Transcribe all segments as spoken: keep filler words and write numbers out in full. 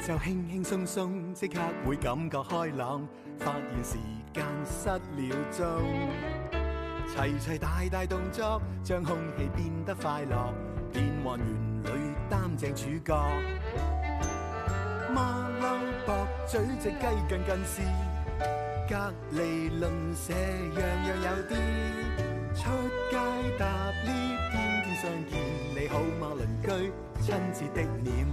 就輕輕鬆鬆，即刻會感覺開朗，發現時間失了蹤。齊齊大大動作，將空氣變得快樂，變幻園裏擔正主角。馬騮駁嘴隻雞近近視，隔離鄰舍樣樣有啲。出街搭 lift，天天相見，你好嗎鄰居？親切的臉，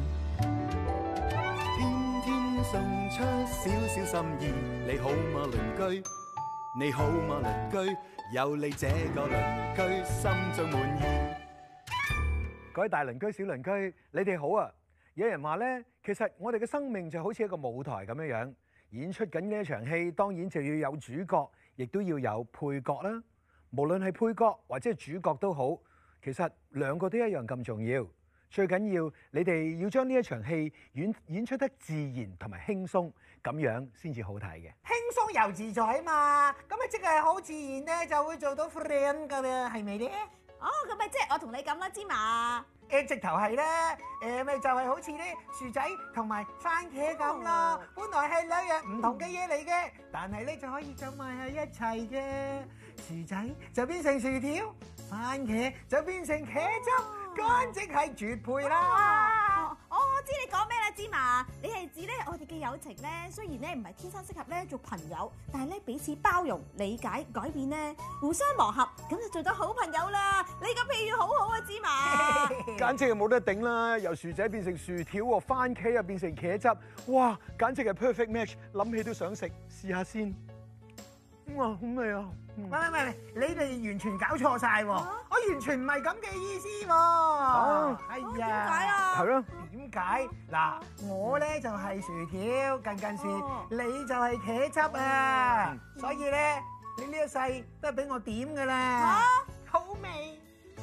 天天送出少少心意，你好嗎鄰居？你好嗎鄰居？有你這個鄰居，心中滿意。 各位大鄰居、小鄰居，你哋好啊！有人話咧，其實我哋嘅生命就好似一個舞台咁樣樣，演出緊呢一場戲，當然就要有主角，亦都要有配角啦。無論係配角或者係主角都好，其實兩個都一樣咁重要。最緊要你哋要將呢一場戲演演出得自然同埋輕鬆，咁樣先至好睇嘅。 輕鬆又自在啊嘛，咁咪即係好自然咧，就會做到 friend 噶啦，係咪咧？ 哦，咁咪即係我同你咁啦，芝麻。 誒，直頭係咧，誒咪就係好似咧薯仔同埋番茄咁咯。本來係兩樣唔同嘅嘢嚟嘅，但係咧就可以走埋喺一齊嘅。薯仔就變成薯條，番茄就變成茄汁，簡直係絕配啦！ 我我知你講咩啦，芝麻。你係指咧我哋嘅友情咧，雖然咧唔係天生適合咧做朋友，但係咧彼此包容、理解、改變咧，互相磨合，咁就做到好朋友啦。你個譬喻好好啊，芝麻。 簡直係冇得頂啦！由薯仔變成薯條喎，番茄又變成茄汁，哇！簡直係 perfect match，諗起都想食，試下先。哇，好味啊！ 喂喂喂，你哋完全搞錯曬喎！我完全唔係咁嘅意思喎。 哦， 係點啊。 解啊？ 係咯。 點解？嗱，我咧就係薯條，近近視，你就係茄汁啊！所以咧，你呢一世都係俾我點㗎啦。嚇，好味！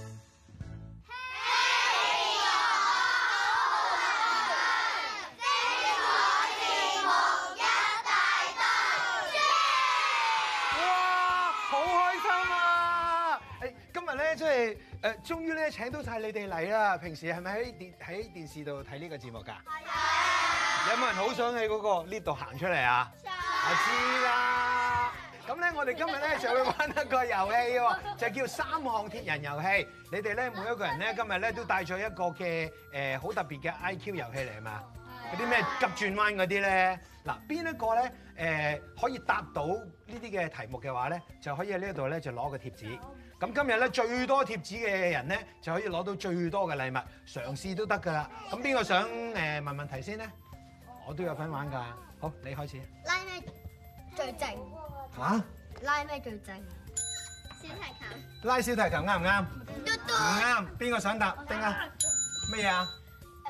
即係誒，終於咧請到晒你哋嚟啦！平時係咪喺電喺電視度睇呢個節目㗎？係啊！有冇人好想喺嗰個 lift 度行出嚟啊？我知啦！咁咧，我哋今日咧就會玩一個遊戲喎，就叫三項鐵人遊戲。你哋咧每一個人咧今日咧都帶咗一個嘅誒好特別嘅 I Q 遊戲嚟係嘛？嗰啲咩急轉彎嗰啲咧，嗱邊一個咧誒可以答到呢啲嘅題目嘅話咧，就可以喺呢一度咧就攞個貼紙。咁今日咧最多貼紙嘅人咧就可以攞到最多嘅禮物，嘗試都得㗎啦。咁邊個想誒問問題先咧？我都有份玩㗎。好，你開始。 拉咩最正？ 嚇？ 拉咩最正？小提琴。 拉小提琴啱唔啱？ 嘟嘟。 唔啱。邊個想答？丁啊？乜嘢啊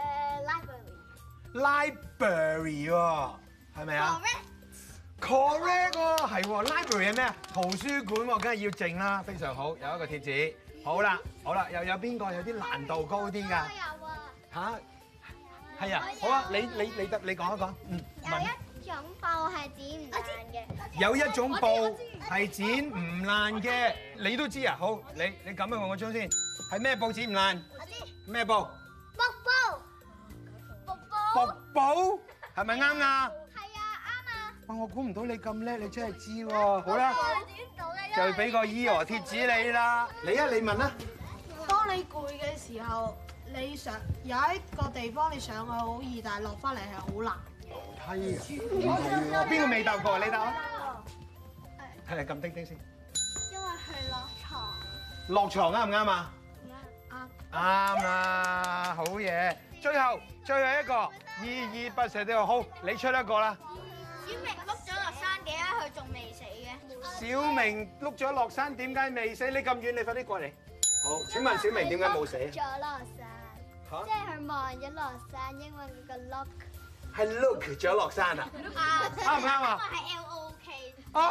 誒 ？Library 喎，係咪啊？Correct 喎，係喎 ，library 係咩啊？圖書館喎，梗係要靜啦，非常好，有一個貼紙。好啦，好啦，又有邊個有啲難度高啲㗎？ 有啊。 吓？係啊，好啊，你你你得你講一講。嗯。 有一種布係剪唔爛嘅。 有一種布係剪唔爛嘅，你都知啊？好，你你撳一個我張先，係咩布剪唔爛？ 我知。 咩布？ 瀑布。瀑布。 瀑布係咪啱啊？哇！我估唔到你咁叻，你真係知喎。好啦，就俾個 Eo 貼紙你啦。你啊，你問啦。 當你攰嘅時候，你上有一個地方你上去好易，但係落翻嚟係好難。 係啊，係喎。邊個未答過？你答啊。係撳叮叮先。 因為係落床。 落床啱唔啱啊？ 啱。 啱啦，好嘢。最後最後一個依依不捨的好，你出一個啦。 小明碌咗落山，點解佢仲未死嘅？ 小明碌咗落山，點解未死？你咁遠，你快啲過嚟。好，請問小明點解冇死？ 咗落山。嚇！即係佢望咗落山，因為佢個 look 係 look 咗落山啊？啱唔啱啊？ 因為係 L O K。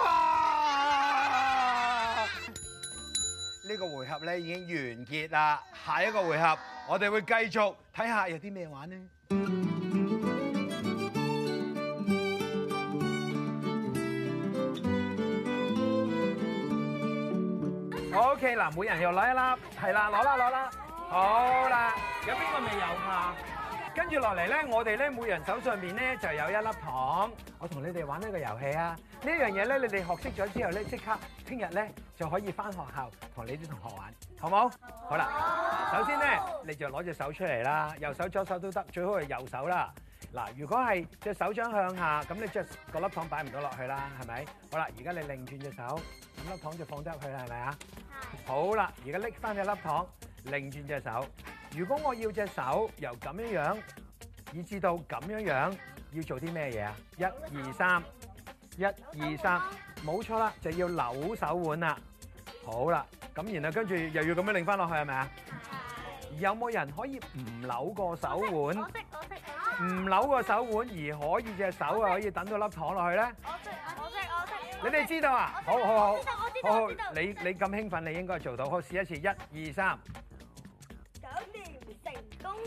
啊！呢個回合咧已經完結啦，下一個回合我哋會繼續睇下有啲咩玩呢？OK 嗱，每人又攞一粒，係啦，攞啦攞啦，好啦，有邊個未有㗎？ 跟住落嚟咧，我哋咧每人手上面咧就有一粒糖。我同你哋玩呢個遊戲啊！呢樣嘢咧，你哋學識咗之後咧，即刻聽日咧就可以翻學校同你啲同學玩，好冇？好啦，首先咧你就攞隻手出嚟啦，右手左手都得，最好係右手啦。嗱，如果係隻手掌向下，咁你即係個粒糖擺唔到落去啦，係咪？好啦，而家你擰轉隻手，咁粒糖就放得入去啦，係咪啊？係。好啦，而家拎翻隻粒糖，擰轉隻手。如果我要隻手由咁樣樣，以至到咁樣樣，要做啲咩嘢啊？一二三，一二三，冇錯啦，就要扭手腕啦。好啦，咁然後跟住又要咁樣擰翻落去，係咪啊？有冇人可以唔扭個手腕？ 我識我識我識。 唔扭個手腕而可以隻手啊可以等到粒糖落去咧？ 我識我識我識。 你哋知道啊？好好好， 我知道我知好好道我知道。 你你咁興奮，你應該做到。好，試一次，一二三， 搞掂成功。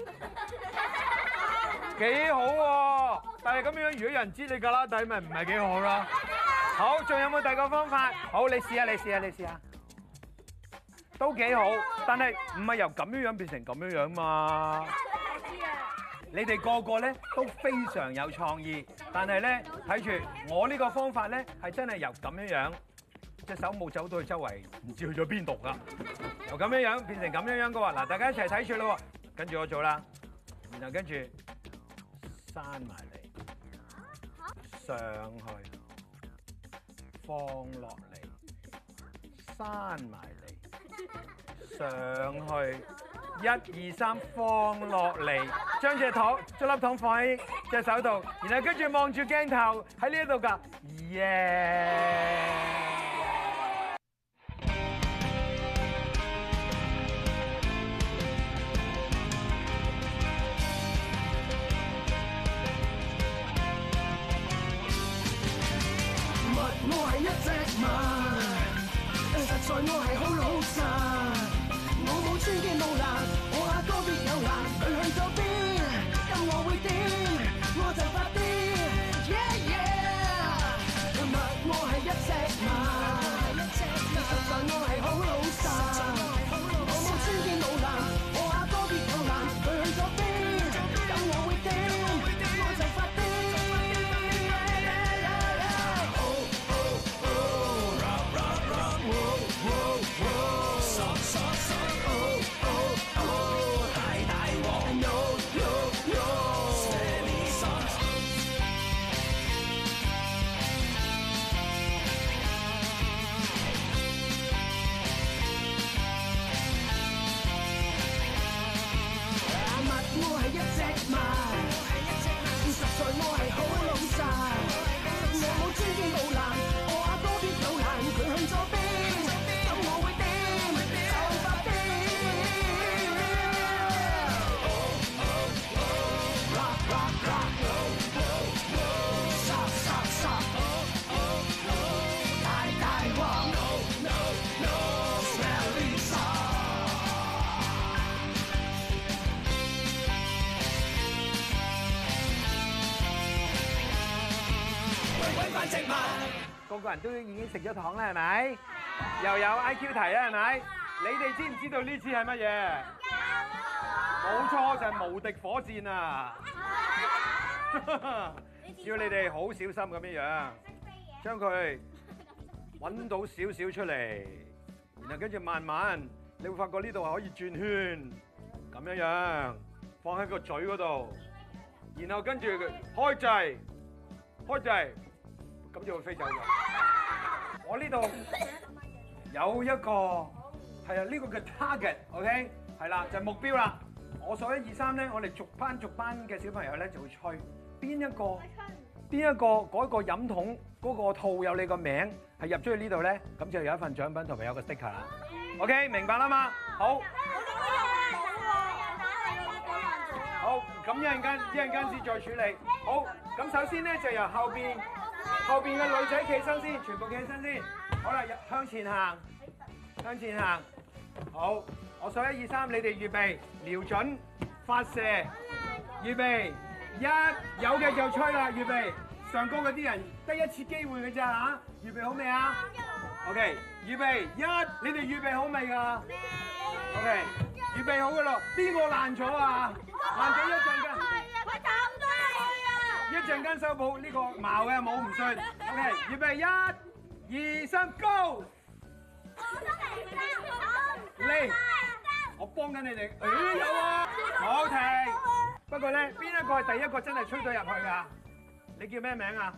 幾好喎！但係咁樣，如果有人知你㗎啦底，咪唔係幾好咯。好，仲有冇第二個方法？好，你試下，你試下，你試下，都幾好。但係唔係由咁樣樣變成咁樣樣嘛？你哋個個咧都非常有創意，但係咧睇住我呢個方法咧係真係由咁樣樣，隻手冇走到去周圍，唔知去咗邊度㗎。由咁樣樣變成咁樣樣嘅喎，嗱，大家一齊睇住咯喎，跟住我做啦，然後跟住閂埋嚟，上去，放落嚟，閂埋嚟，上去。一二三，放落嚟，將隻糖、將粒糖放喺隻手度，然後跟住望住鏡頭喺呢一度㗎，耶！ 物我係一隻馬，實在我係好老實。我冇穿肩冇難，我阿哥必有難。佢去咗邊，咁我會點？我就發癲。Yeah yeah，物我係一隻馬，實在我係好老實。我冇穿肩冇難，我阿哥必有難。佢去咗邊，咁我會點？我就發癲。Oh oh oh，rock rock rock，wow wow wow。 個個人都已經食咗糖啦，係咪？又有 I Q 題啦，係咪？你哋知唔知道呢次係乜嘢？冇錯，就係無敵火箭啊！要你哋好小心咁樣樣，將佢揾到少少出嚟，然後跟住慢慢，你會發覺呢度係可以轉圈，咁樣樣放喺個嘴嗰度，然後跟住開掣，開掣。咁就會飛走咗。我呢度有一個係啊，呢個嘅 target，OK， 係啦，就係目標啦。我數一二三咧，我哋逐班逐班嘅小朋友咧就會吹邊一個邊一個嗰個飲筒嗰個套有你個名係入咗去呢度咧，咁就有一份獎品同埋有個 sticker 啦。OK， 明白啦嘛？好。好，咁一陣間一陣間先再處理。好，咁首先咧就由後邊。後邊嘅女仔企身先，全部企身先。好啦，向前行，向前行。好，我數一二三，你哋預備，瞄準，發射，預備，一有嘅就吹啦，預備。上高嗰啲人得一次機會嘅咋嚇？預備好未啊 ？OK，預備，一，你哋預備好未㗎 ？OK，預備好㗎咯。邊個爛咗啊？爛咗一陣㗎。 陣間修補呢個矛嘅冇唔信。OK， 預備一、二、三，Go！ 嚟，我幫緊你哋。誒有啊，好停。不過咧，邊一個係第一個真係吹到入去㗎？你叫咩名啊？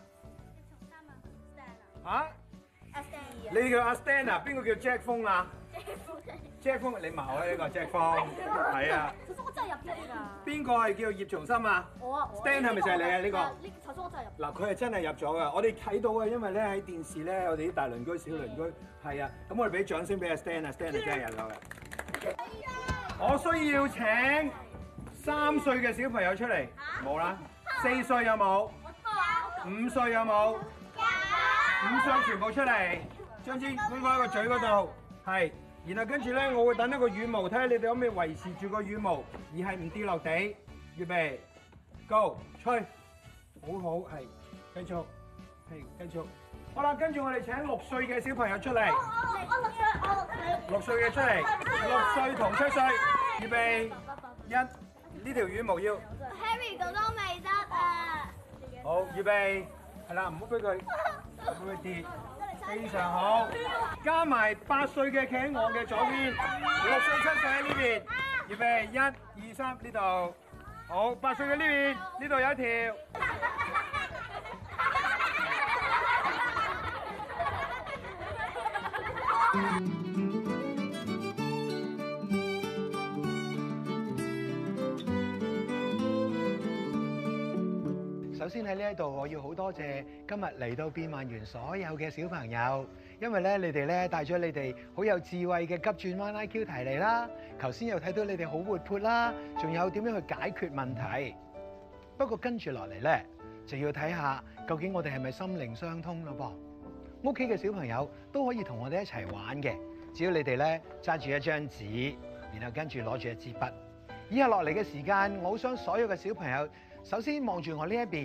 嚇？你叫阿 Stan 啊？邊個叫 Jack 風啊 ？Jack 風，你矛啊呢個 Jack 風，係啊。 頭先我真係入咗㗎。 邊個係叫葉松森啊？ 我啊。 Stan 係咪就係你啊？呢個？ 呢頭先我真係入。 嗱，佢係真係入咗㗎，我哋睇到嘅，因為咧喺電視咧，我哋啲大鄰居、小鄰居係啊，咁我哋俾掌聲俾阿 Stan 啊 ，Stan 係真係入咗嘅。我需要請三歲嘅小朋友出嚟，冇啦。四歲有冇？五歲有冇？五歲全部出嚟，將支搬返喺個嘴嗰度，係。然後跟住咧，我會等一個羽毛，睇下你哋可唔可以維持住個羽毛，而係唔跌落地。預備 ，Go， 吹，好好係，繼續，係繼續。好啦，跟住我哋請六歲嘅小朋友出嚟。 我六歲，我六歲。 六歲嘅出嚟，六歲同七歲，預備一，呢條羽毛要。 Harry 哥哥未得啊！ 好，預備，係啦，唔好俾佢，唔好俾佢跌。非常好，加埋八歲嘅企喺我嘅左邊，六歲七歲喺呢邊，預備一、二、三呢度，好，八歲嘅呢邊，呢度有一條。首先喺呢一度，我要好多謝今日嚟到變幻園所有嘅小朋友，因為咧你哋咧帶咗你哋好有智慧嘅急轉彎 I Q 題嚟啦。頭先又睇到你哋好活潑啦，仲有點樣去解決問題。不過跟住落嚟咧，就要睇下究竟我哋係咪心靈相通咯噃。屋企嘅小朋友都可以同我哋一齊玩嘅，只要你哋咧揸住一張紙，然後跟住攞住一支筆。以下落嚟嘅時間，我好想所有嘅小朋友首先望住我呢一邊，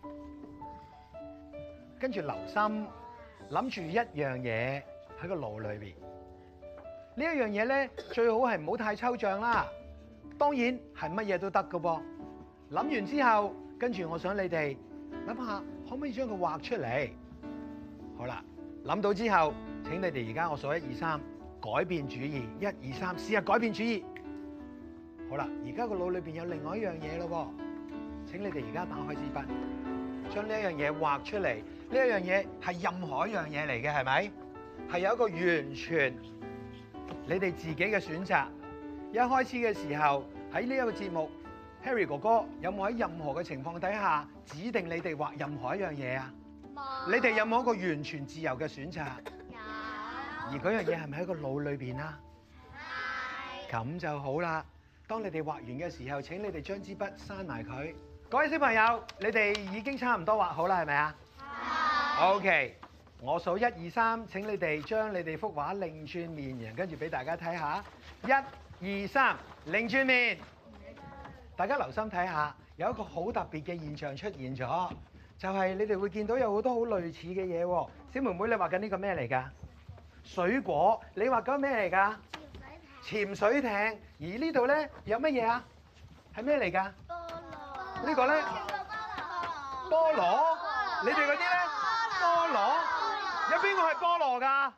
跟住留心諗住一樣嘢喺個腦裏邊。呢一樣嘢咧，最好係唔好太抽象啦。當然係乜嘢都得㗎噃。諗完之後，跟住我想你哋諗下，可唔可以將佢畫出嚟？好啦，諗到之後，請你哋而家我數一二三，改變主意。一二三，試下改變主意。好啦，而家個腦裏邊有另外一樣嘢咯噃。請你哋而家打開支筆，將呢一樣嘢畫出嚟。呢一樣嘢係任何一樣嘢嚟嘅，係咪？係有一個完全你哋自己嘅選擇。一開始嘅時候喺呢一個節目 ，Harry 哥哥有冇喺任何嘅情況底下指定你哋畫任何一樣嘢啊？冇。你哋有冇一個完全自由嘅選擇？有。而嗰樣嘢係咪喺個腦裏邊啊？係。咁就好啦。當你哋畫完嘅時候，請你哋將支筆閂埋佢。各位小朋友，你哋已經差唔多畫好啦，係咪啊？係。OK，我數一二三，請你哋將你哋幅畫擰轉面，然後跟住俾大家睇下。一、二、三，擰轉面。大家留心睇下，有一個好特別嘅現象出現咗，就係你哋會見到有好多好類似嘅嘢喎。小妹妹，你畫緊呢個咩嚟㗎？水果。你畫緊咩嚟㗎？潛水艇。而呢度咧有乜嘢啊？係咩嚟㗎？呢個咧，菠蘿，你哋嗰啲咧，菠蘿，有邊個係菠蘿㗎？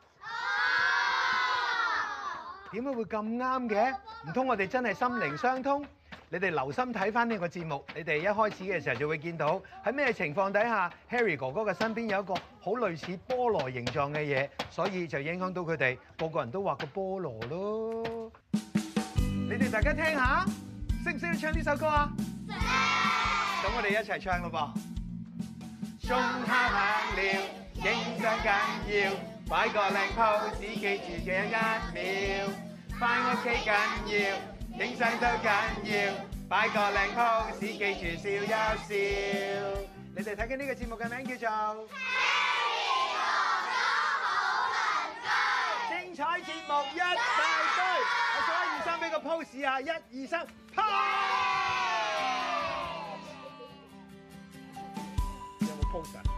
點解會咁啱嘅？唔通我哋真係心靈相通？你哋留心睇翻呢個節目，你哋一開始嘅時候就會見到喺咩情況底下 ，Harry 哥哥嘅身邊有一個好類似菠蘿形狀嘅嘢，所以就影響到佢哋個個人都畫個菠蘿咯。你哋大家聽下，識唔識得唱呢首歌啊？識。咁我哋一齊唱咯噃。鐘敲響了，影相緊要，擺個靚 pose，記住嘅一秒。返屋企緊要，影相都緊要，擺個靚 pose，記住笑一笑。你哋睇緊呢個節目嘅名叫做《精彩節目一大堆》。我數一二三，俾個 pose 啊！一二三，啪！有冇 pose 啊？